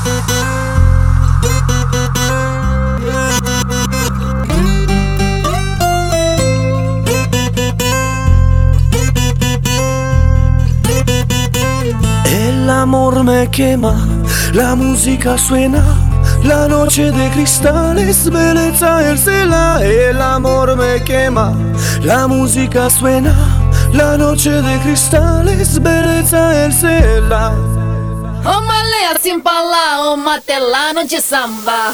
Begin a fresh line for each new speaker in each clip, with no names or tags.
El amor me quema, la música suena, la noche de cristales, belleza el cela. El amor me quema, la música suena, la noche de cristales, belleza el cela.
Ô malé assim pra lá, ô matelano de samba.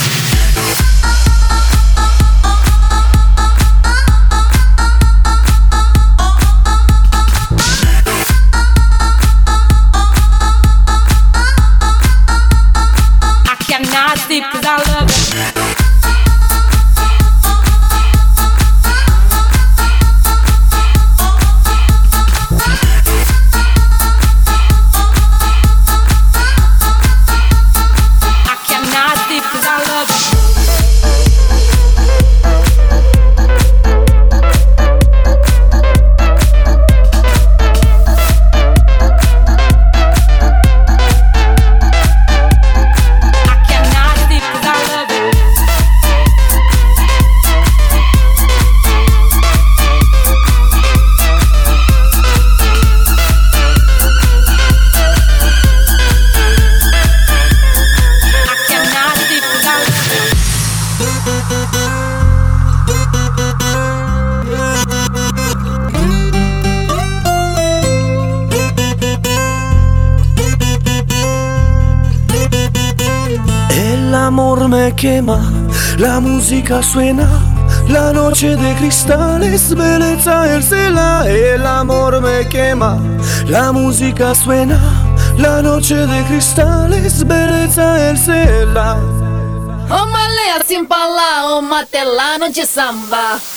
I cannot sleep 'cause I love it.
El amor me quema, la música suena, la noche de cristales, belleza el cela. El amor me quema, la música suena, la noche de cristales, belleza el cela.
Ô malé assim pra lá, ô matelano de samba.